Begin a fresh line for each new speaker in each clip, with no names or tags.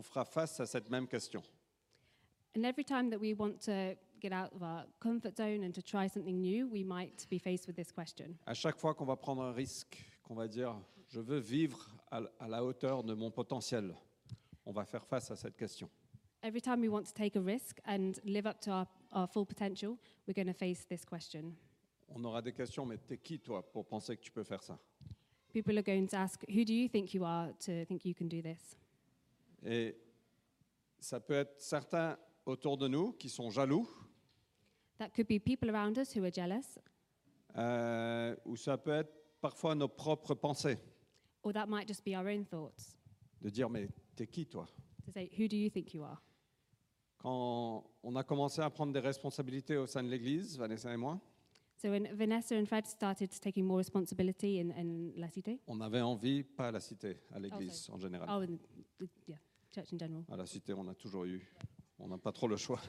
fera face à cette même question.
And every time that we want to get out of our comfort zone and to try something new, we might be faced with this question.
À chaque fois qu'on va prendre un risque, qu'on va dire « je veux vivre à la hauteur de mon potentiel », on va faire face à cette question.
Every time we want to take a risk and live up to our full potential, we're going to face this question.
On aura des questions, mais t'es qui toi pour penser que tu peux faire ça?
People are going to ask, who do you think you are to think you can do this?
Et ça peut être certains autour de nous qui sont jaloux,
That could be people around us who are jealous,
ou ça peut être parfois nos propres pensées,
or that might just be our own thoughts.
de dire « mais t'es qui toi ?»
To say, who do you think you are?
Quand on a commencé à prendre des responsabilités au sein de l'Église, Vanessa et moi,
So when Vanessa and Fred started taking more responsibility in La Cité,
on avait envie, pas à la Cité, à l'Église en général.
and yeah, church in general.
À la Cité, on a toujours eu, on n'a pas trop le choix.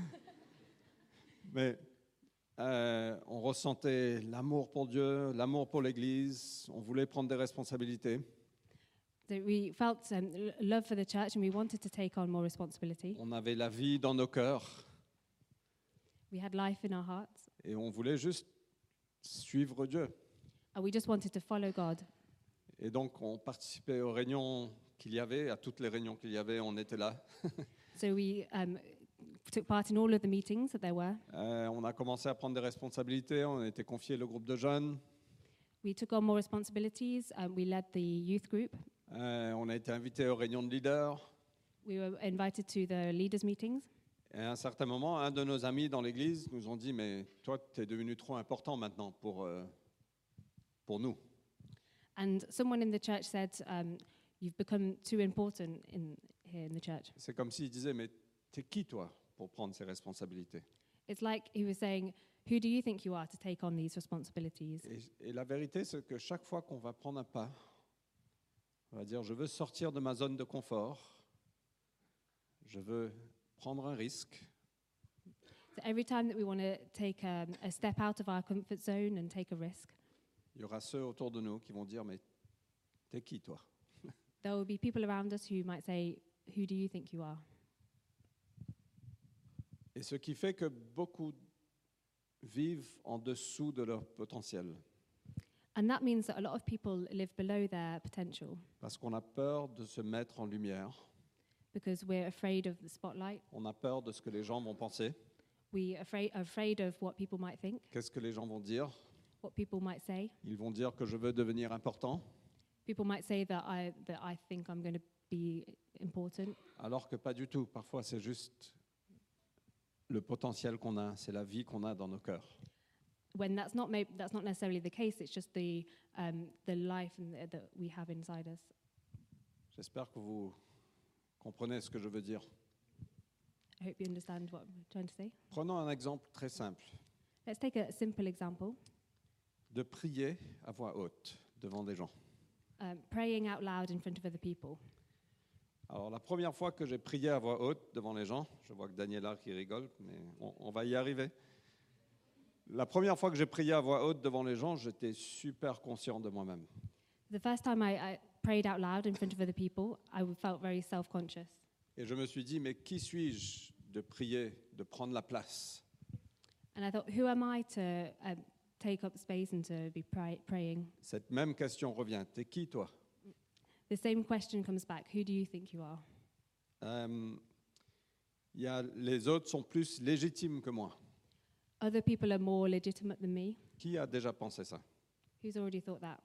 Mais on ressentait l'amour pour Dieu, l'amour pour l'Église, on voulait prendre des responsabilités.
So we felt love for the church and we wanted to take on more responsibility.
On avait la vie dans nos cœurs
We had life in our hearts
et on voulait juste suivre Dieu.
and we just wanted to follow God.
Et donc, on participait aux réunions qu'il y avait, à toutes les réunions qu'il y avait, on était là.
So we took part in all of the meetings that there were.
On a commencé à prendre des responsabilités, on a été confié le groupe de jeunes,
We took on more responsibilities. We led the youth group.
on a été invité aux réunions de leaders.
We were invited to the leaders' meetings.
Et à un certain moment, un de nos amis dans l'église nous ont dit « mais toi, tu es devenu trop important maintenant pour nous.
And someone in the church said, you've become too important here in the church. »
C'est comme s'il disait « mais t'es qui toi pour prendre ces responsabilités ?»
It's like he was saying, who do you think you are to take on these responsibilities?
Et la vérité, c'est que chaque fois qu'on va prendre un pas, on va dire « je veux sortir de ma zone de confort, je veux prendre un risque ».
So every time that we want to take a step out of our comfort zone and take a risk,
Il y aura ceux autour de nous qui vont dire « mais t'es qui toi ?»
there will be people around us who might say, who do you think you are?
Et ce qui fait que beaucoup vivent en dessous de leur potentiel,
And that means that a lot of people live below their potential
parce qu'on a peur de se mettre en lumière,
because we're afraid of the spotlight.
on a peur de ce que les gens vont penser,
We are afraid of what people might think,
qu'est-ce que les gens vont dire.
what people might say.
Ils vont dire que je veux devenir important,
People might say that I think I'm going to be important,
alors que pas du tout. Parfois, c'est juste le potentiel qu'on a, c'est la vie qu'on a dans nos cœurs.
when that's not necessarily the case. It's just the life that we have inside us.
J'espère que vous comprenez ce que je veux dire.
I hope you understand what I'm trying to say.
Prenons un exemple très simple,
Let's take a simple example.
de prier à voix haute devant des gens.
Praying out loud in front of other people.
Alors, la première fois que j'ai prié à voix haute devant les gens, je vois que Daniela qui rigole, mais on va y arriver. La première fois que j'ai prié à voix haute devant les gens, j'étais super conscient de moi-même.
The first time I prayed out loud in front of other people, I felt very self-conscious.
Et je me suis dit, mais qui suis-je de prier, de prendre la place?
And I thought, who am I to take up space and to be praying?
Cette même question revient. T'es qui, toi?
The same question comes back. Who do you think you are?
Les autres sont plus légitimes que moi.
Other people are more legitimate than me.
Qui a déjà pensé ça?
Who's already thought that?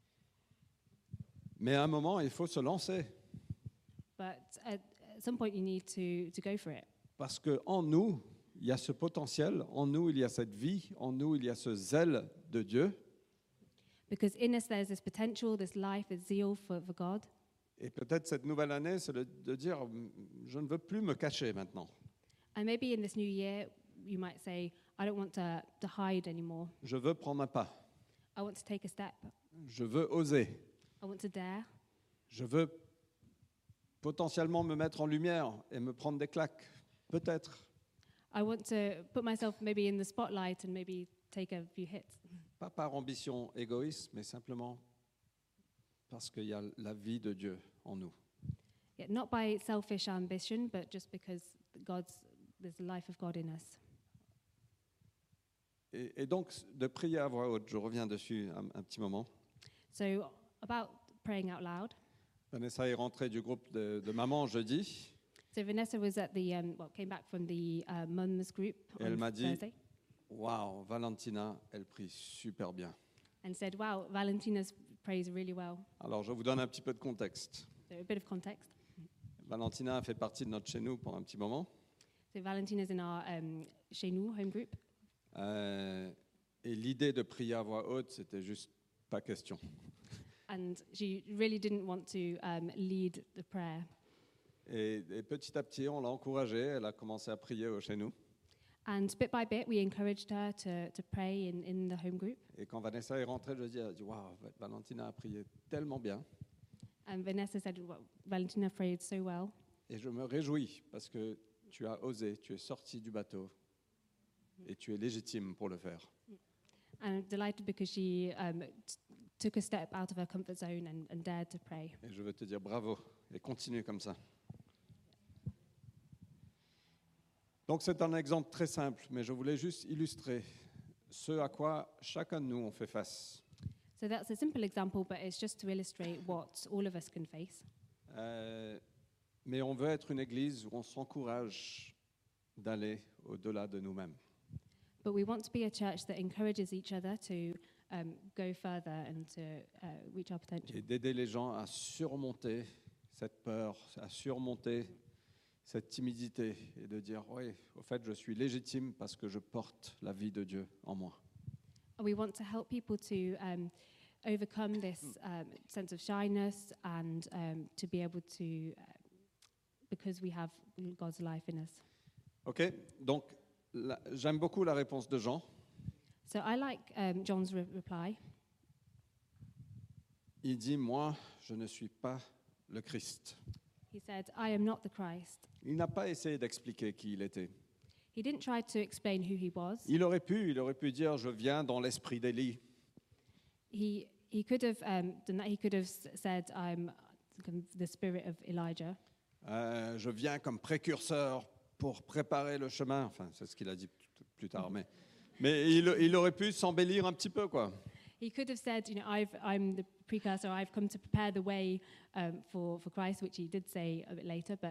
Mais à un moment, il faut se lancer.
But at some point, you need to go for it.
Parce qu'en nous, il y a ce potentiel, en nous, il y a cette vie, en nous, il y a ce zèle de Dieu.
Because in us, there's this potential, this life, this zeal for God.
Et peut-être cette nouvelle année, c'est de dire, je ne veux plus me cacher maintenant.
And maybe in this new year, you might say, I don't want to hide anymore.
Je veux prendre un pas.
I want to take a step.
Je veux oser.
I want to dare.
Je veux potentiellement me mettre en lumière et me prendre des claques. Peut-être.
I want to put myself maybe in the spotlight and maybe take a few hits.
Pas par ambition égoïste, mais simplement parce qu'il y a la vie de Dieu en nous.
Yet not by selfish ambition, but just because there's the life of God in us.
Et donc, de prier à voix haute, je reviens dessus un petit moment.
So about praying out loud.
Vanessa est rentrée du groupe de maman jeudi.
So Vanessa was at the came back from the mums group
Et elle
on
m'a dit,
Thursday
waouh, Valentina, elle prie super bien.
and said, "Wow, Valentina's prays really well."
Alors, je vous donne un petit peu de contexte.
So a bit of context.
Valentina a fait partie de notre chez nous pour un petit moment.
So Valentina's in our chez nous home group,
Et l'idée de prier à voix haute, c'était juste pas question.
and she really didn't want to lead the prayer.
Et petit à petit, on l'a encouragée. Elle a commencé à prier chez nous.
And bit by bit, we encouraged her to pray in the home group.
Et quand Vanessa est rentrée, je dis, waouh, Valentina a prié tellement bien.
And Vanessa said, well, Valentina prayed so well.
Et je me réjouis parce que tu as osé, tu es sorti du bateau et tu es légitime pour le faire.
And I'm delighted because she took a step out of her comfort zone and dared to pray.
Et je veux te dire bravo et continue comme ça. Donc c'est un exemple très simple, mais je voulais juste illustrer ce à quoi chacun de nous on fait face.
So that's a simple example, but it's just to illustrate what all of us can face.
Mais on veut être une église où on s'encourage d'aller au-delà de nous-mêmes.
But we want to be a church that encourages each other to go further and to reach our potential.
Et d'aider les gens à surmonter cette peur, à surmonter cette timidité et de dire, oui, au fait, je suis légitime parce que je porte la vie de Dieu en moi.
And we want to help people to overcome this sense of shyness and to be able to, because we have God's life in us.
OK? Donc, j'aime beaucoup la réponse de Jean.
So I like John's reply.
Il dit, moi, je ne suis pas le Christ.
He said, I am not the Christ.
Il n'a pas essayé d'expliquer qui il était.
He didn't try to explain who he was.
Il aurait pu dire, je viens dans l'esprit d'Élie.
He could have done that. He could have said, I'm the spirit of Elijah.
Je viens comme précurseur pour préparer le chemin. Enfin, c'est ce qu'il a dit plus tard. Mais il aurait pu s'embellir un petit peu, quoi.
He could have said, I'm the precursor. I've come to prepare the way for Christ, which he did say a bit later. But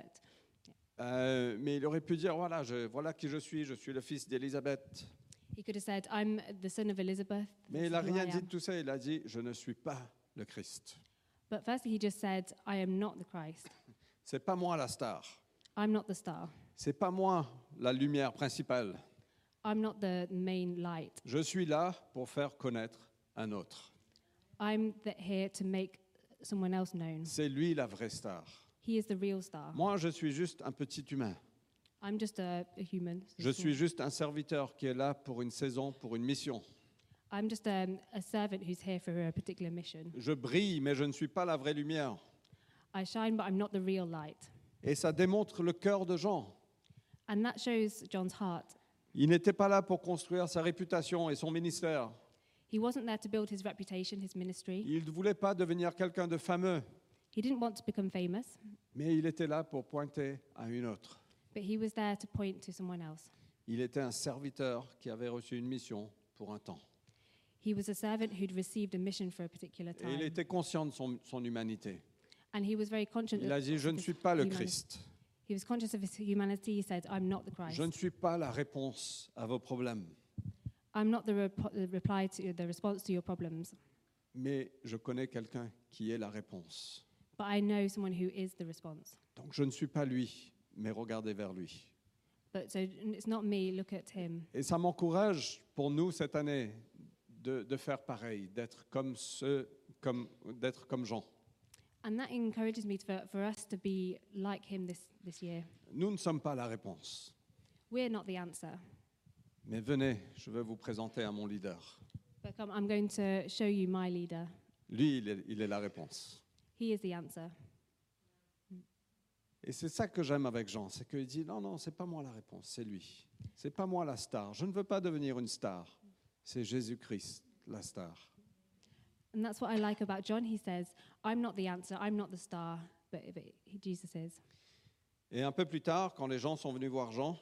mais il aurait pu dire, voilà qui je suis le fils d'Élisabeth.
he could have said, I'm the son of Elizabeth.
Mais il n'a
This is who
rien
I
dit
am.
de tout ça. Il a dit, je ne suis pas le Christ.
But firstly, he just said, I am not the Christ.
C'est pas moi la star.
I'm not the star.
C'est pas moi la lumière principale.
I'm not the main light.
Je suis là pour faire connaître un autre.
I'm here to make someone else known.
C'est lui la vraie star.
He is the real star.
Moi, je suis juste un petit humain.
I'm just a human.
Je suis juste un serviteur qui est là pour une saison, pour une mission.
I'm just a servant who's here for a particular mission.
Je brille, mais je ne suis pas la vraie lumière.
I shine, but I'm not the real light.
Et ça démontre le cœur de Jean.
And that shows John's heart.
Il n'était pas là pour construire sa réputation et son ministère.
He wasn't there to build his reputation, his ministry.
Il ne voulait pas devenir quelqu'un de fameux,
He didn't want to become famous,
mais il était là pour pointer à une autre.
but he was there to point to someone else.
Il était un serviteur qui avait reçu une mission pour un temps.
He was a servant who'd received a mission for a particular
Et il
time.
était conscient de son humanité.
And he was very conscious
Il a dit, je ne
his
suis pas le
humanity.
Christ.
He was conscious of his humanity. He said, I'm not the Christ.
Je ne suis pas la réponse à vos problèmes.
I'm not the reply to the response to your problems,
Mais je connais quelqu'un qui est la réponse.
but I know someone who is the response.
Donc je ne suis pas lui, mais regardez vers lui.
But so it's not me, look at him.
Et ça m'encourage pour nous cette année de faire pareil, d'être comme Jean.
And that encourages me for us to be like him this year.
Nous ne sommes pas la réponse.
We're not the answer.
Mais venez, je vais vous présenter à mon leader.
But come, I'm going to show you my leader.
Lui, il est la réponse.
He is the answer.
Et c'est ça que j'aime avec Jean, c'est qu'il dit, non, c'est pas moi la réponse, c'est lui. C'est pas moi la star. Je ne veux pas devenir une star. C'est Jésus-Christ, la star.
And that's what I like about John. He says, I'm not the answer, I'm not the star, Jesus is.
Et un peu plus tard, quand les gens sont venus voir Jean,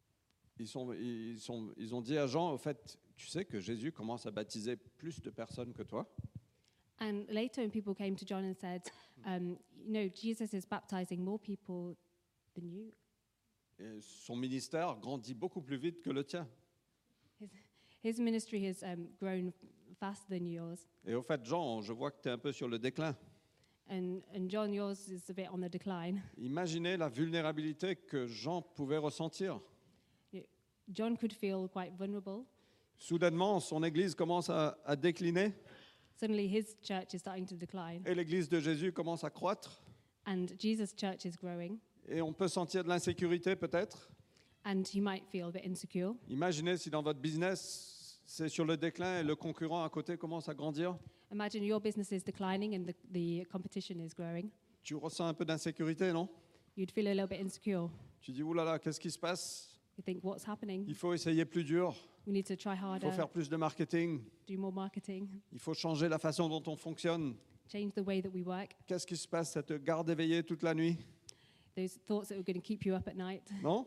ils ont dit à Jean, au fait, tu sais que Jésus commence à baptiser plus de personnes que toi.
And later, when people came to John and said, Jesus is baptizing more people than you.
Et son ministère grandit beaucoup plus vite que le tien.
His ministry has grown faster than yours.
Et au fait, Jean, je vois que tu es un peu sur le déclin.
And John, yours is a bit on the decline.
Imaginez la vulnérabilité que Jean pouvait ressentir.
John could feel quite vulnerable.
Soudainement, son église commence à décliner
Suddenly, his church is starting to decline,
et l'église de Jésus commence à croître.
and Jesus' church is growing,
Et on peut sentir de l'insécurité peut-être.
and he might feel a bit insecure.
Imaginez si dans votre business, c'est sur le déclin et le concurrent à côté commence à grandir.
Imagine your business is declining and the competition is growing.
Tu ressens un peu d'insécurité, non?
You'd feel a little bit insecure.
Tu dis, oulala, qu'est-ce qui se passe?
You think, what's happening?
Il faut essayer plus dur,
We need to try
il faut
harder,
faire plus de marketing,
do more marketing,
il faut changer la façon dont on fonctionne.
change the way that we work.
Qu'est-ce qui se passe? Ça te garde éveillé toute la nuit,
Those thoughts that are going to keep you up at night.
non?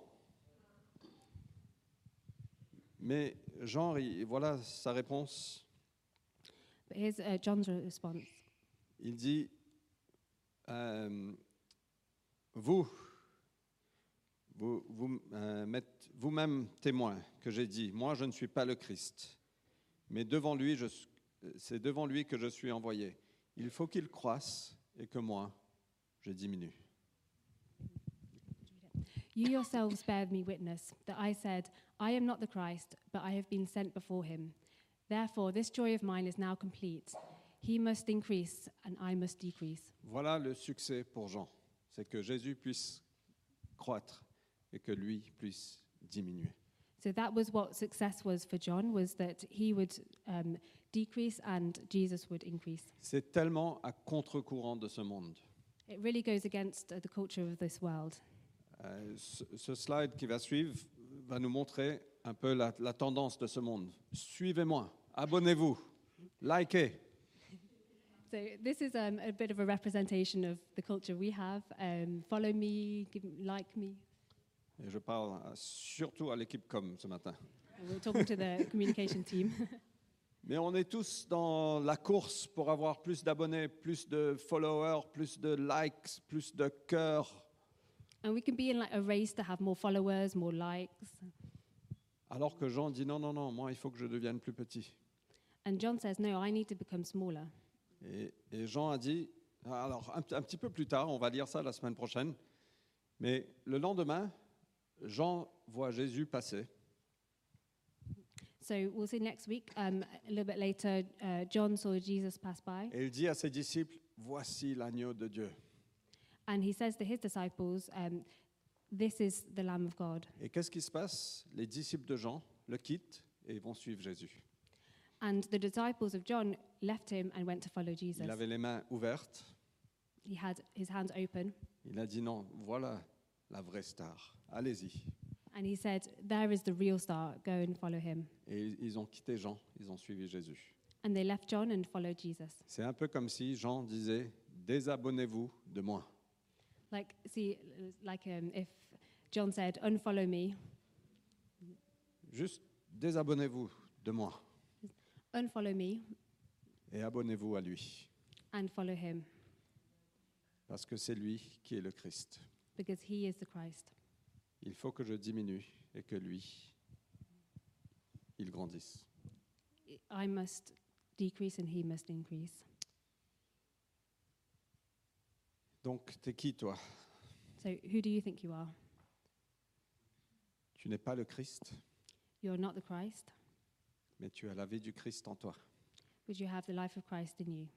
Mais Jean, voilà sa réponse.
But here's John's response.
Il dit, vous m'êtes vous-même témoin que j'ai dit, moi je ne suis pas le Christ, mais c'est devant lui que je suis envoyé. Il faut qu'il croisse et que moi, je diminue.
You yourselves bear me witness that I said, I am not the Christ, but I have been sent before him. Therefore, this joy of mine is now complete. He must increase and I must decrease.
Voilà le succès pour Jean, c'est que Jésus puisse croître et que lui puisse diminuer.
So that was what success was for John, was that he would decrease and Jesus would increase.
C'est tellement à contre-courant de ce monde.
It really goes against the culture of this world.
Ce slide qui va suivre va nous montrer un peu la tendance de ce monde. Suivez-moi, abonnez-vous, likez.
So this is a bit of a representation of the culture we have. Follow me, like me.
Et je parle surtout à l'équipe com ce matin.
And we're talking to the communication team.
Mais on est tous dans la course pour avoir plus d'abonnés, plus de followers, plus de likes, plus de cœurs.
And we can be in like a race to have more followers, more likes.
Alors que Jean dit non, non, non, moi il faut que je devienne plus petit.
And John says, no, I need to become smaller.
Et Jean a dit, alors un petit peu plus tard, on va lire ça la semaine prochaine, mais le lendemain, Jean voit Jésus passer.
So we'll see next week. A little bit later, John saw Jesus pass by,
Et il dit à ses disciples, voici l'agneau de Dieu.
and he says to his disciples, this is the Lamb of God.
Et qu'est-ce qui se passe? Les disciples de Jean le quittent et vont suivre Jésus.
And the disciples of John left him and went to follow Jesus.
Il avait les mains ouvertes.
He had his hands open,
Il a dit non, voilà la vraie star. Allez-y.
and he said, there is the real star, go and follow him.
Et ils ont quitté Jean, ils ont suivi Jésus.
And they left John and followed Jesus.
C'est un peu comme si Jean disait, désabonnez-vous de moi.
Like, if John said, unfollow me,
Juste désabonnez-vous de moi
unfollow me,
et abonnez-vous à lui.
and follow him,
Parce que c'est lui qui est le Christ.
because he is the Christ.
Il faut que je diminue et que lui, il grandisse.
I must decrease and he must increase.
Donc, t'es qui toi?
So who do you think you are?
Tu n'es pas le Christ,
You're not the Christ,
mais tu as la vie du Christ en toi.
but you have the life of Christ in you.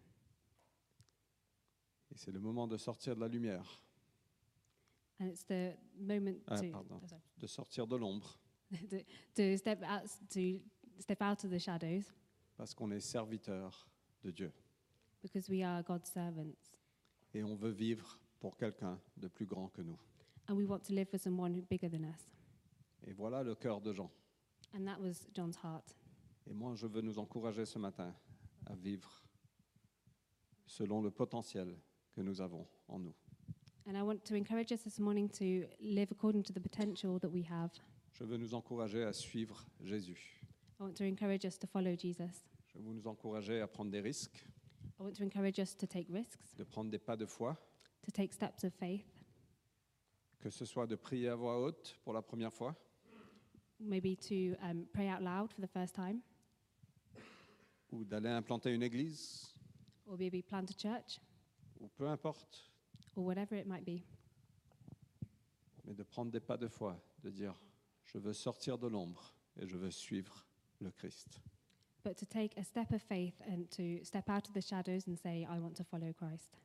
Et c'est le moment de sortir de la lumière,
And it's the moment
de sortir de l'ombre,
to step out of the shadows,
parce qu'on est serviteur de Dieu.
because we are God's servants.
Et on veut vivre pour quelqu'un de plus grand que nous.
And we want to live for someone bigger than us.
Et voilà le cœur de Jean.
And that was John's heart.
Et moi, je veux nous encourager ce matin à vivre selon le potentiel que nous avons en nous.
And I want to encourage us this morning to live according to the potential that we have.
Je veux nous encourager à suivre Jésus.
I want to encourage us to follow Jesus.
Je veux nous encourager à prendre des risques,
I want to encourage us to take risks,
de prendre des pas de foi,
to take steps of faith,
que ce soit de prier à voix haute pour la première fois,
maybe to pray out loud for the first time,
ou d'aller implanter une église,
or maybe plant a church,
ou peu importe,
or whatever it might be.
mais de prendre des pas de foi, de dire je veux sortir de l'ombre et je veux suivre le Christ.
But to take a step of faith and to step out of the shadows and say, I want to follow Christ.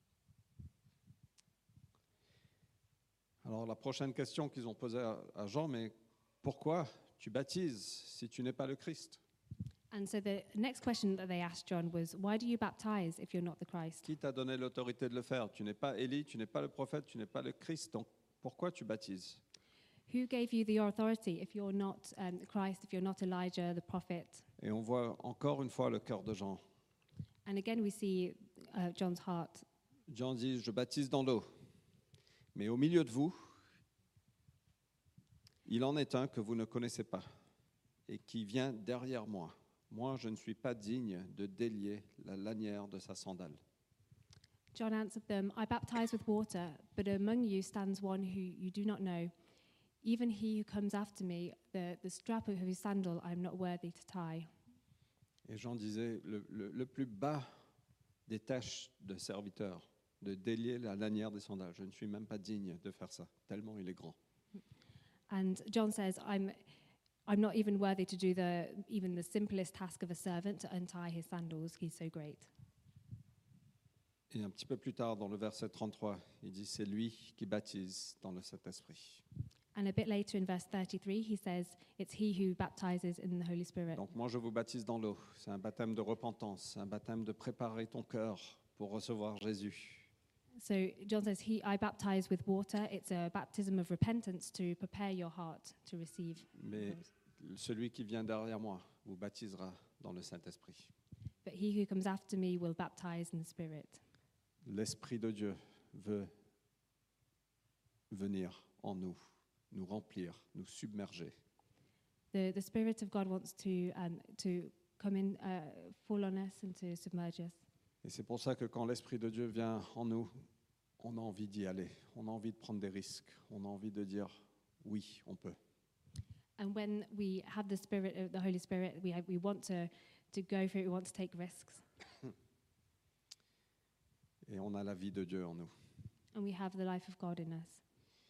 Alors la prochaine question qu'ils ont posée à Jean, mais pourquoi tu baptises si tu n'es pas le Christ?
And so the next question that they asked John was, why do you baptize if you're not the Christ?
Qui t'a donné l'autorité de le faire? Tu n'es pas Élie, tu n'es pas le prophète, tu n'es pas le Christ, donc pourquoi tu baptises?
Who gave you the authority if you're not the Christ, if you're not Elijah, the prophet?
Et on voit encore une fois le cœur de Jean.
And again, we see John's heart.
Jean dit, je baptise dans l'eau, mais au milieu de vous, il en est un que vous ne connaissez pas et qui vient derrière moi. Moi, je ne suis pas digne de délier la lanière de sa sandale.
John answered them, I baptize with water, but among you stands one who you do not know. Even he who comes after me, the strap of his sandal I am not worthy to tie.
Et Jean disait, le plus bas des tâches de serviteur, de délier la lanière des sandales. Je ne suis même pas digne de faire ça, tellement il est grand.
And John says, I'm not even worthy to do even the simplest task of a servant to untie his sandals. He's so great.
Et un petit peu plus tard, dans le verset 33, il dit, c'est lui qui baptise dans le Saint-Esprit.
And a bit later in verse 33, he says, it's he who baptizes in the Holy Spirit.
Donc moi, je vous baptise dans l'eau. C'est un baptême de repentance, un baptême de préparer ton cœur pour recevoir Jésus.
So John says, I baptize with water. It's a baptism of repentance to prepare your heart to receive.
Mais celui qui vient derrière moi vous baptisera dans le Saint-Esprit.
But he who comes after me will baptize in the Spirit.
L'Esprit de Dieu veut venir en nous, nous remplir, nous submerger.
The Spirit of God wants to come in, fall on us and to submerge us.
Et c'est pour ça que quand l'Esprit de Dieu vient en nous, on a envie d'y aller, on a envie de prendre des risques, on a envie de dire oui, on peut.
And when we have the Holy Spirit, we want to go for it, we want to take risks.
Et on a la vie de Dieu en nous.
And we have the life of God in us.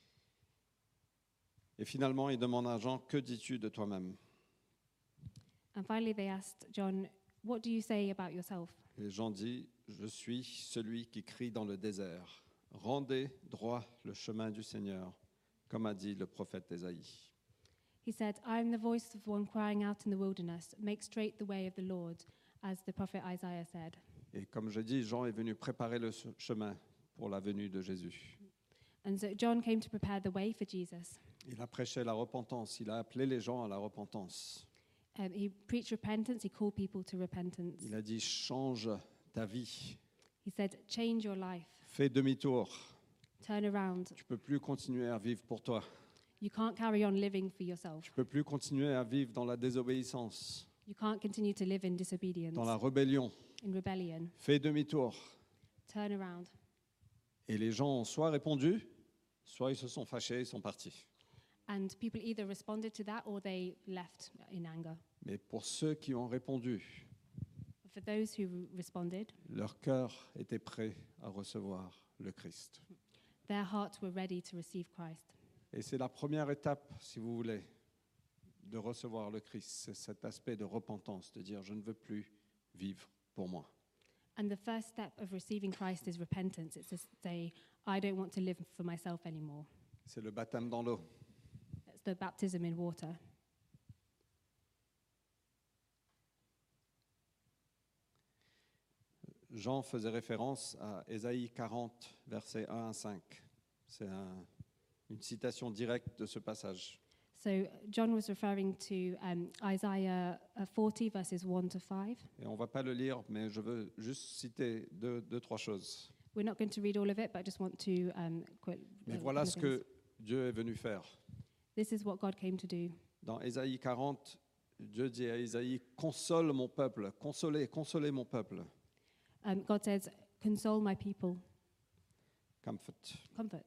Et finalement, il demande à Jean, que dis-tu de toi-même?
And finally they asked John, what do you say about yourself?
Et Jean dit, je suis celui qui crie dans le désert. Rendez droit le chemin du Seigneur, comme a dit le prophète Ésaïe.
He said, I am the voice of one crying out in the wilderness, make straight the way of the Lord, as the prophet Isaiah said.
Et comme je dis, Jean est venu préparer le chemin pour la venue de Jésus.
And so John came to prepare the way for Jesus.
Il a prêché la repentance, il a appelé les gens à la repentance.
He preached repentance, he called people to repentance.
Il a dit, change ta vie,
He said, change your life,
fais demi-tour.
turn around.
Tu ne peux plus continuer à vivre pour toi.
You can't carry on living for yourself.
Tu ne peux plus continuer à vivre dans la désobéissance,
You can't continue to live in disobedience,
dans la rébellion.
in rebellion.
Fais demi-tour.
Turn around.
Et les gens ont soit répondu, soit ils se sont fâchés, ils sont partis.
And people either responded to that or they left in anger.
Mais pour ceux qui ont répondu,
But for those who responded,
leur cœur était prêt à recevoir le Christ.
their hearts were ready to receive Christ.
Et c'est la première étape, si vous voulez, de recevoir le Christ. C'est cet aspect de repentance, de dire je ne veux plus vivre pour moi.
And the first step of receiving Christ is repentance. It's to say, I don't want to live for myself anymore.
C'est le baptême dans l'eau.
That's the baptism in water.
Jean faisait référence à Ésaïe 40, versets 1 à 5. C'est une citation directe de ce passage.
So John was referring to Isaiah 40, verses 1 to 5.
Et on ne va pas le lire, mais je veux juste citer deux, trois choses.
We're not going to read all of it, but I just want to quote.
Mais
some
voilà
of
ce
things.
que Dieu est venu faire.
This is what God came to do.
Dans Ésaïe 40, Dieu dit à Ésaïe, console mon peuple, consolez mon peuple.
God says, "Console my people,
Comfort.
comfort."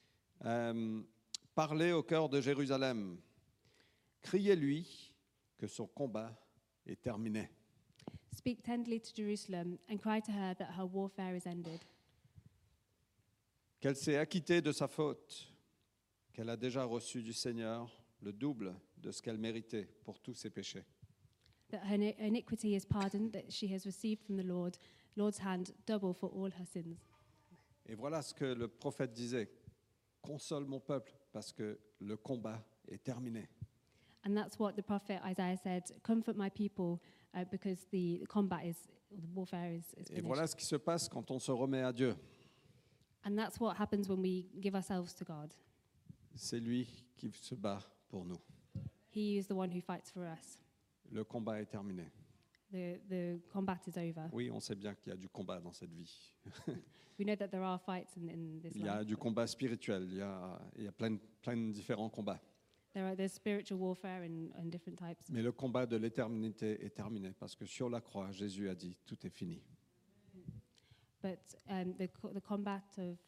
Parlez au cœur de Jérusalem. Criez-lui que son combat est terminé.
Speak tenderly to Jerusalem and cry to her that her warfare is ended.
Qu'elle s'est acquittée de sa faute, qu'elle a déjà reçu du Seigneur le double de ce qu'elle méritait pour tous ses péchés.
That her iniquity is pardoned, that she has received from the Lord's hand double for all her sins.
Et voilà ce que le prophète disait, console mon peuple parce que le combat est terminé.
And that's what the prophet Isaiah said, "Comfort my people, because the warfare is
Et
finished."
voilà ce qui se passe quand on se remet à Dieu.
And that's what happens when we give ourselves to God.
C'est lui qui se bat pour nous.
He is the one who fights for us.
Le combat est terminé.
The combat is over.
Oui, on sait bien qu'il y a du combat dans cette vie.
We know that there are fights in this
Il y a
life.
du combat spirituel, il y a plein de différents combats.
There's spiritual warfare and different types.
Mais le combat de l'éternité est terminé parce que sur la croix, Jésus a dit tout est fini.
But the combat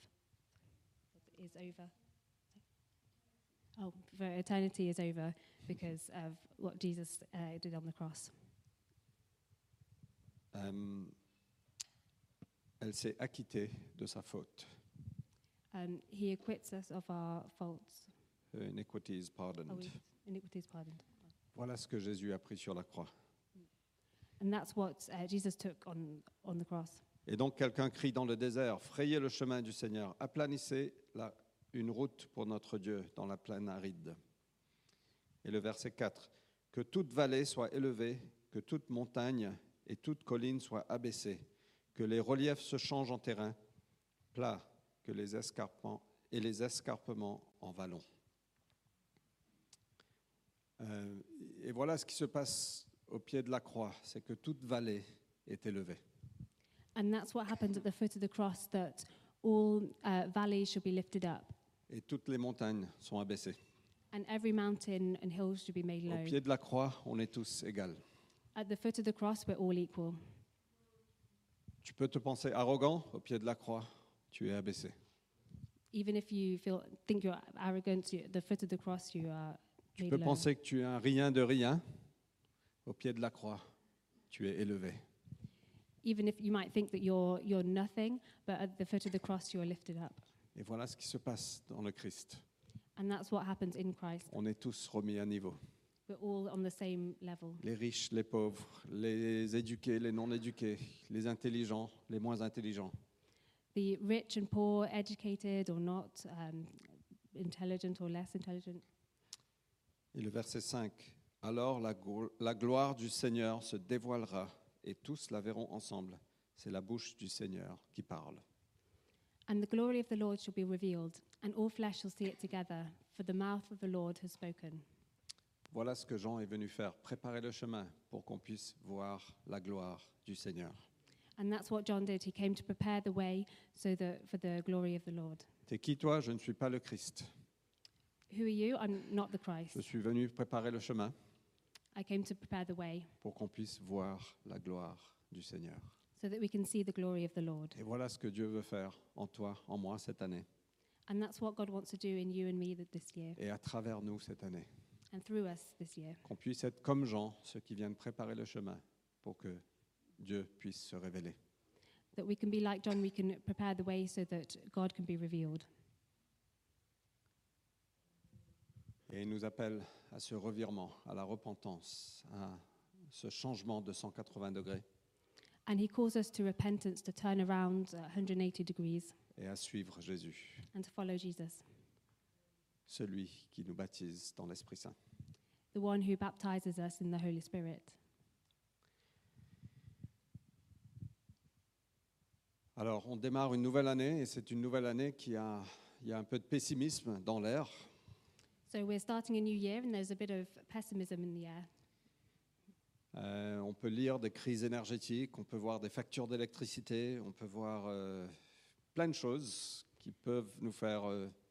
is over. Oh, for eternity is over because of what Jesus did on the cross.
Elle s'est acquittée de sa faute.
He acquits us of our faults.
Her iniquity is pardoned.
Iniquity is pardoned.
Voilà ce que Jésus a pris sur la croix.
And that's what Jesus took on the cross.
Et donc quelqu'un crie dans le désert, frayez le chemin du Seigneur, aplanissez une route pour notre Dieu dans la plaine aride. Et le verset 4, que toute vallée soit élevée, que toute montagne et toute colline soient abaissées, que les reliefs se changent en terrain plat, que les escarpements en vallons. Et voilà ce qui se passe au pied de la croix, c'est que toute vallée est élevée.
And that's what happens at the foot of the cross, that all valleys should be lifted up,
Et toutes les montagnes sont abaissées.
and every mountain and hill should be made
Au
low.
pied de la croix, on est tous égaux.
At the foot of the cross, we're all equal.
Tu peux te penser arrogant, au pied de la croix, tu es abaissé.
Even if you think you're arrogant, at the foot of the cross, you are
Tu
made
peux
low.
penser que tu es un rien de rien, au pied de la croix, tu es élevé.
Even if you might think that you're nothing, but at the foot of the cross, you are lifted up.
Et voilà ce qui se passe dans le Christ.
And that's what happens in Christ.
On est tous remis à niveau.
We're all on the same level.
Les riches, les pauvres, les éduqués, les non éduqués, les intelligents, les moins intelligents.
The rich and poor, educated or not, intelligent or less intelligent.
Et le verset 5, alors la gloire du Seigneur se dévoilera et tous la verront ensemble. C'est la bouche du Seigneur qui parle.
And the glory of the Lord shall be revealed, and all flesh shall see it together, for the mouth of the Lord has spoken.
Voilà ce que Jean est venu faire, préparer le chemin pour qu'on puisse voir la gloire du Seigneur.
And that's what John did. He came to prepare the way for the glory of the Lord.
T'es qui toi? Je ne suis pas le Christ.
Who are you? I'm not the Christ.
Je suis venu préparer le chemin
I came to prepare the way
pour qu'on puisse voir la gloire du Seigneur.
so that we can see the glory of the Lord.
Et voilà ce que Dieu veut faire en toi, en moi cette année
And that's what God wants to do in you and me this year,
et à travers nous cette année.
and through us this year.
Qu'on puisse être comme Jean, ceux qui viennent préparer le chemin pour que Dieu puisse se révéler.
That we can be like John, we can prepare the way so that God can be revealed.
Et il nous appelle à ce revirement, à la repentance, à ce changement de 180 degrés
And he calls us to repentance, to turn around 180 degrees
et à suivre Jésus,
and to follow Jesus,
celui qui nous baptise dans l'Esprit Saint.
the one who baptizes us in the Holy Spirit.
Alors, on démarre une nouvelle année et c'est une nouvelle année il y a un peu de pessimisme dans l'air.
So we're starting a new year and there's a bit of pessimism in the air.
On peut lire des crises énergétiques, on peut voir des factures d'électricité, on peut voir plein de choses qui peuvent nous faire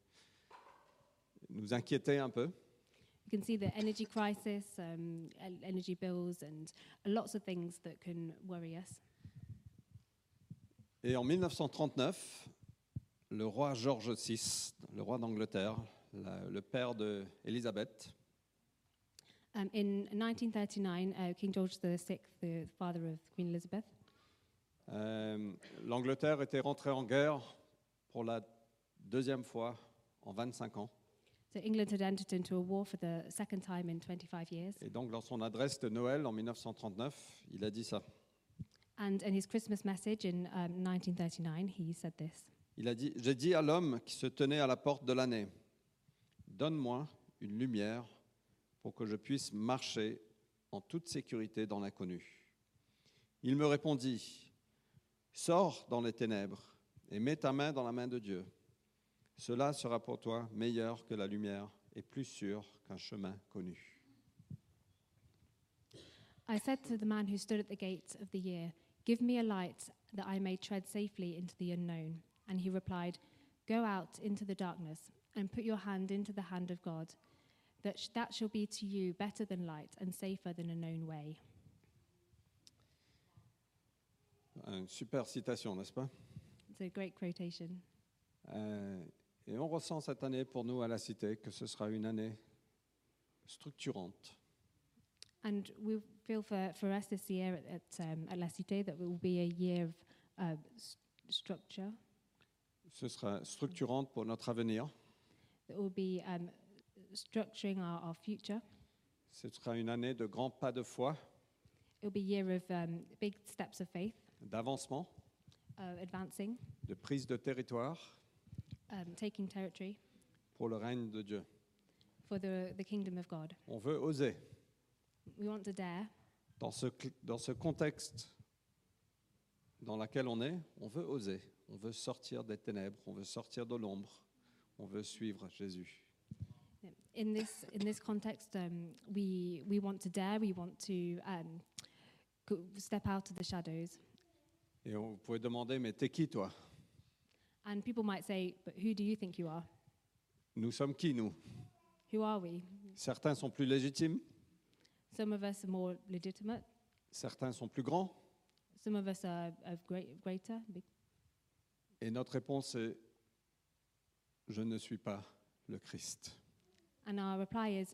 nous inquiéter un peu.
You can see the energy crisis, energy bills, and lots of things that can worry us.
Et en 1939, le roi George VI, le roi d'Angleterre, le père d'Élisabeth,
In 1939, King George VI, the father of Queen Elizabeth,
l'Angleterre était rentrée en guerre pour la deuxième fois en 25 ans.
so England had entered into a war for the second time in 25 years.
Et donc, dans son adresse de Noël en 1939, il a dit ça.
And in his Christmas message in 1939, he said this.
Il a dit « J'ai dit à l'homme qui se tenait à la porte de l'année, donne-moi une lumière pour que je puisse marcher en toute sécurité dans l'inconnu. » Il me répondit, « Sors dans les ténèbres et mets ta main dans la main de Dieu. Cela sera pour toi meilleur que la lumière et plus sûr qu'un chemin connu. »
I said to the man who stood at the gate of the year, "Give me a light that I may tread safely into the unknown." And he replied, "Go out into the darkness and put your hand into the hand of God. That shall be to you better than light and safer than a known way."
Une super citation, n'est-ce pas?
It's a great quotation.
Et on ressent cette année pour nous à la Cité que ce sera une année structurante.
And we feel for us this year at La Cité that it will be a year of structure.
Ce sera structurante pour notre avenir.
That will be structuring our future.
Ce sera une année de grands pas de foi,
It will be a year of big steps of faith,
d'avancement,
advancing,
de prise de territoire
taking territory
pour le règne de Dieu.
for the kingdom of God.
On veut oser.
We want to dare.
Dans ce contexte dans lequel on est, on veut oser. On veut sortir des ténèbres, on veut sortir de l'ombre, on veut suivre Jésus.
In this context, we want to dare. We want to step out of the shadows.
Et vous pouvez demander, mais t'es qui toi?
And people might say, "But who do you think you are?
Nous sommes qui, nous?
Who are we?"
Certains sont plus légitimes,
Some of us are more legitimate.
certains sont plus grands.
Some of us are greater.
Et notre réponse est, je ne suis pas le Christ.
And our reply is,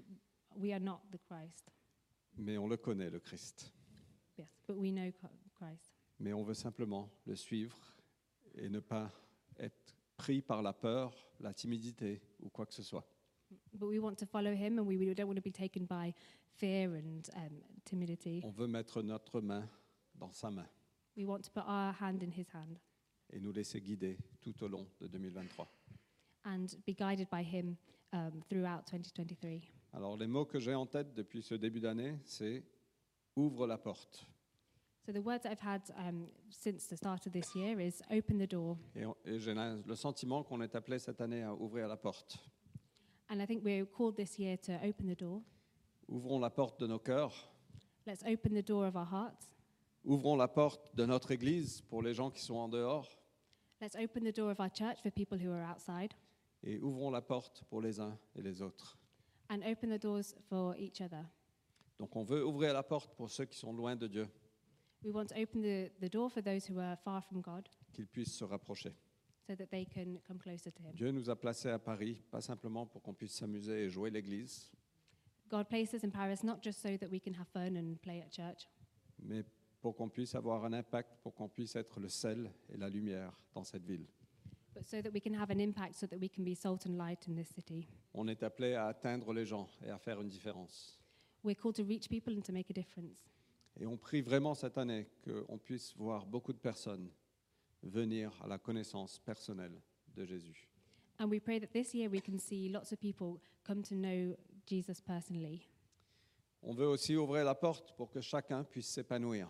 "We are not the Christ."
Mais on le connaît, le Christ.
Yes, but we know Christ.
Mais on veut simplement le suivre et ne pas être pris par la peur, la timidité ou quoi que ce soit.
But we want to follow him, and we don't want to be taken by fear and timidity.
On veut mettre notre main dans sa main
We want to put our hand in his hand
et nous laisser guider tout au long de 2023.
and be guided by him throughout 2023.
Alors les mots que j'ai en tête depuis ce début d'année, c'est « ouvre la porte
So the words that I've had since the start of this year is "open the door." ».
Et j'ai le sentiment qu'on est appelé cette année à ouvrir la porte.
And I think we're called this year to open the door.
Ouvrons la porte de nos cœurs,
Let's open the door of our hearts.
ouvrons la porte de notre Église pour les gens qui sont en dehors
Let's open the door of our church for people who are outside,
et ouvrons la porte pour les uns et les autres.
and open the doors for each other.
Donc on veut ouvrir la porte pour ceux qui sont loin de Dieu,
We want to open the door for those who are far from God
qu'ils puissent se rapprocher.
so that they can come closer to him.
Dieu nous a placés à Paris, pas simplement pour qu'on puisse s'amuser et jouer l'église,
God placed us in Paris not just so that we can have fun and play at church,
mais pour qu'on puisse avoir un impact, pour qu'on puisse être le sel et la lumière dans cette ville.
but so that we can have an impact, so that we can be salt and light in this city.
On est appelé à atteindre les gens et à faire une différence.
We're called to reach people and to make a difference.
Et on prie vraiment cette année qu'on puisse voir beaucoup de personnes venir à la connaissance personnelle de Jésus.
And we pray that this year we can see lots of people come to know Jesus personally.
On veut aussi ouvrir la porte pour que chacun puisse s'épanouir.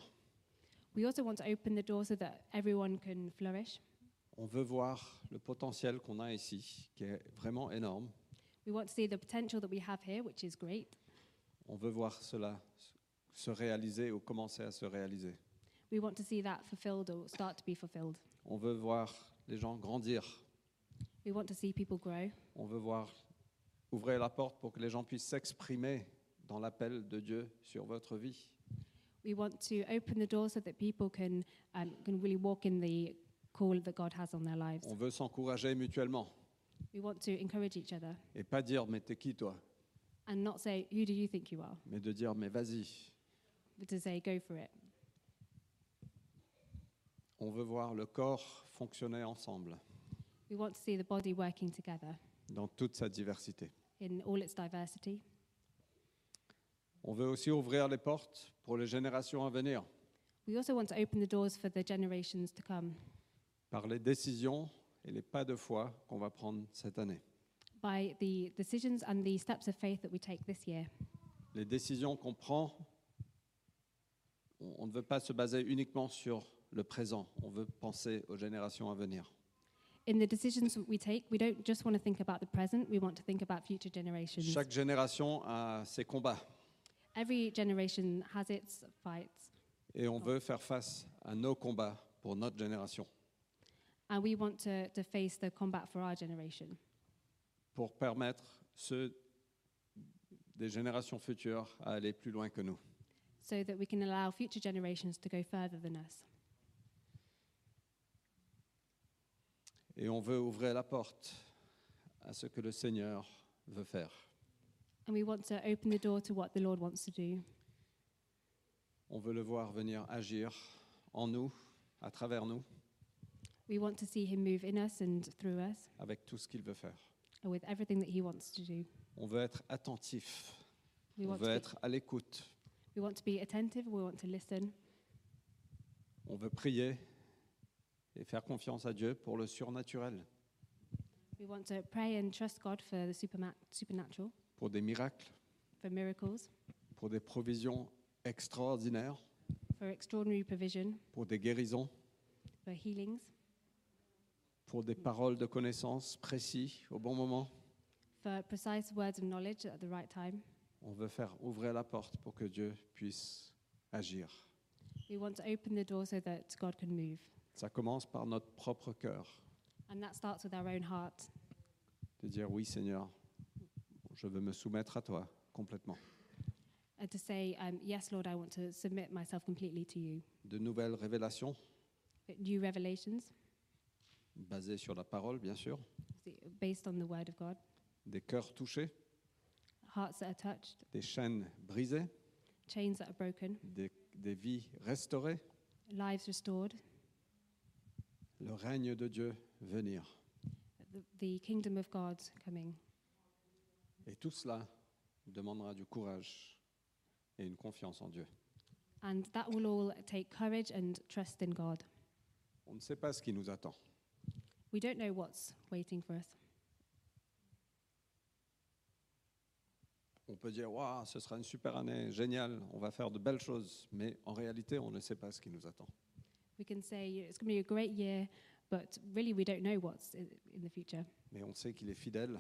We also want to open the door so that everyone can flourish.
On veut voir le potentiel qu'on a ici, qui est vraiment énorme.
We want to see the potential that we have here, which is great.
On veut voir cela se réaliser ou commencer à se réaliser.
We want to see that fulfilled or start to be fulfilled.
On veut voir les gens grandir.
We want to see people grow.
On veut voir ouvrir la porte pour que les gens puissent s'exprimer dans l'appel de Dieu sur votre vie.
We want to open the door so that people can really walk in the call that God has on their lives.
On veut s'encourager mutuellement
We want to encourage each other
et pas dire mais t'es qui toi,
and not say, who do you think you are?
mais de dire mais vas-y.
But to say, go for it.
On veut voir le corps fonctionner ensemble
We want to see the body working together
dans toute sa diversité.
in all its diversity.
On veut aussi ouvrir les portes pour les générations à venir
We also want to open the doors for the generations to come
par les décisions et les pas de foi qu'on va prendre cette année.
by the decisions and the steps of faith that we take this year.
Les décisions qu'on prend, on ne veut pas se baser uniquement sur le présent, on veut penser aux générations à venir.
In the decisions that we take, we don't just want to think about the present, we want to think about future generations.
Chaque génération a ses combats
Every generation has its fights,
et on veut faire face à nos combats pour notre génération
and we want to face the combat for our generation
pour permettre ceux des générations futures à aller plus loin que nous.
so that we can allow future generations to go further than us.
Et on veut ouvrir la porte à ce que le Seigneur veut faire.
And we want to open the door to what the Lord wants to do.
On veut le voir venir agir en nous, à travers nous,
We want to see him move in us and through us
avec tout ce qu'il veut faire.
and with everything that he wants to do.
On veut être attentif,
We
on
want
veut
to
être à l'écoute,
be attentive, we want to listen.
on veut prier et faire confiance à Dieu pour le surnaturel,
We want to pray and trust God for the supernatural,
pour des miracles,
for miracles,
pour des provisions extraordinaires,
for extraordinary provision,
pour des guérisons,
for healings,
pour des paroles de connaissance précises au bon moment.
for precise words of knowledge at the right time.
On veut faire ouvrir la porte pour que Dieu puisse agir.
We want to open the door so that God can move.
Ça commence par notre propre cœur,
And that starts with our own heart,
de dire oui Seigneur, je veux me soumettre à toi complètement.
and to say, yes, Lord, I want to submit myself completely to you.
De nouvelles révélations
New revelations,
basées sur la parole bien sûr,
based on the word of God,
des cœurs touchés,
hearts that are touched,
des chaînes brisées,
chains that are broken,
des vies restaurées,
lives restored,
le règne de Dieu venir.
the kingdom of God coming.
Et tout cela demandera du courage et une confiance en Dieu.
And that will all take courage and trust in God.
On ne sait pas ce qui nous attend.
We don't know what's waiting for us.
On peut dire, waouh, ce sera une super année, génial, on va faire de belles choses, mais en réalité, on ne sait pas ce qui nous attend.
We can say it's going to be a great year, but really we don't know what's in the future.
Mais on sait qu'il est fidèle.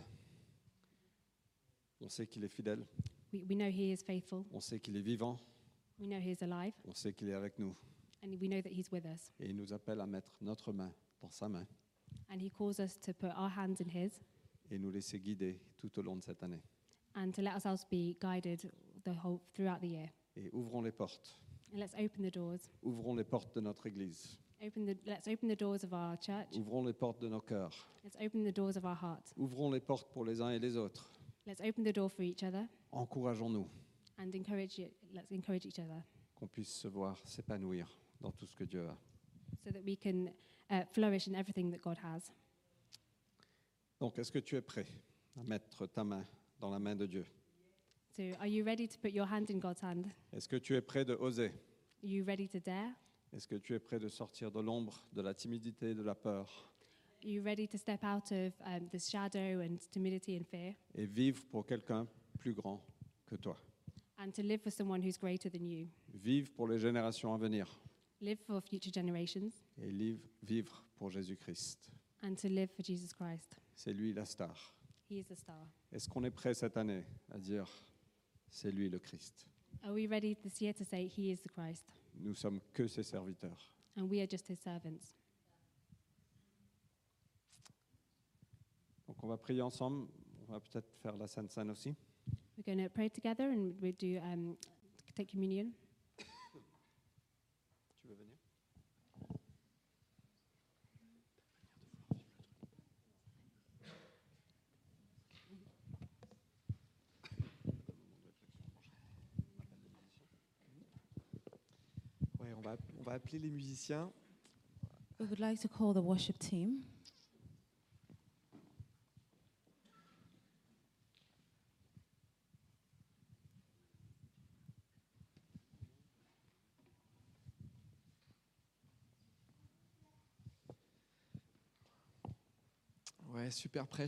On sait qu'il est fidèle.
We know he is faithful.
On sait qu'il est vivant.
We know he is alive.
On sait qu'il est avec nous.
And we know that he's with us.
Et il nous appelle à mettre notre main dans sa main
And he calls us to put our hands in his
et nous laisser guider tout au long de cette année.
and to let ourselves be guided throughout the year.
Et ouvrons les portes.
And let's open the doors.
Ouvrons les portes de notre Église.
Let's open the doors of our church.
Ouvrons les portes de nos cœurs.
Let's open the doors of our heart.
Ouvrons les portes pour les uns et les autres.
Let's open the door for each other
Encourageons-nous,
and let's encourage each other
qu'on puisse se voir s'épanouir dans tout ce que Dieu a.
so that we can flourish in everything that God has.
Donc, est-ce que tu es prêt à mettre ta main dans la main de Dieu?
So are you ready to put your hand in God's hand?
Est-ce que tu es prêt de oser?
Are you ready to dare?
Est-ce que tu es prêt de sortir de l'ombre, de la timidité, de la peur
Are you ready to step out of the shadow and timidity and fear
et vivre pour quelqu'un plus grand que toi?
and to live for someone who's greater than you?
Vivre pour les générations à venir
Live for future generations
et vivre pour Jésus-Christ.
and to live for Jesus Christ.
C'est lui la star.
He is the star.
Est-ce qu'on est prêt cette année à dire c'est lui le Christ?
Are we ready this year to say he is the Christ
Nous sommes que ses serviteurs.
and we are just his servants?
on va prier ensemble. On va peut-être faire la Sainte Seine aussi.
We're going to pray together and we do take communion.
Tu veux venir?
Ouais, on va appeler les musiciens.
We would like to call the worship team.
Ouais, super prêche.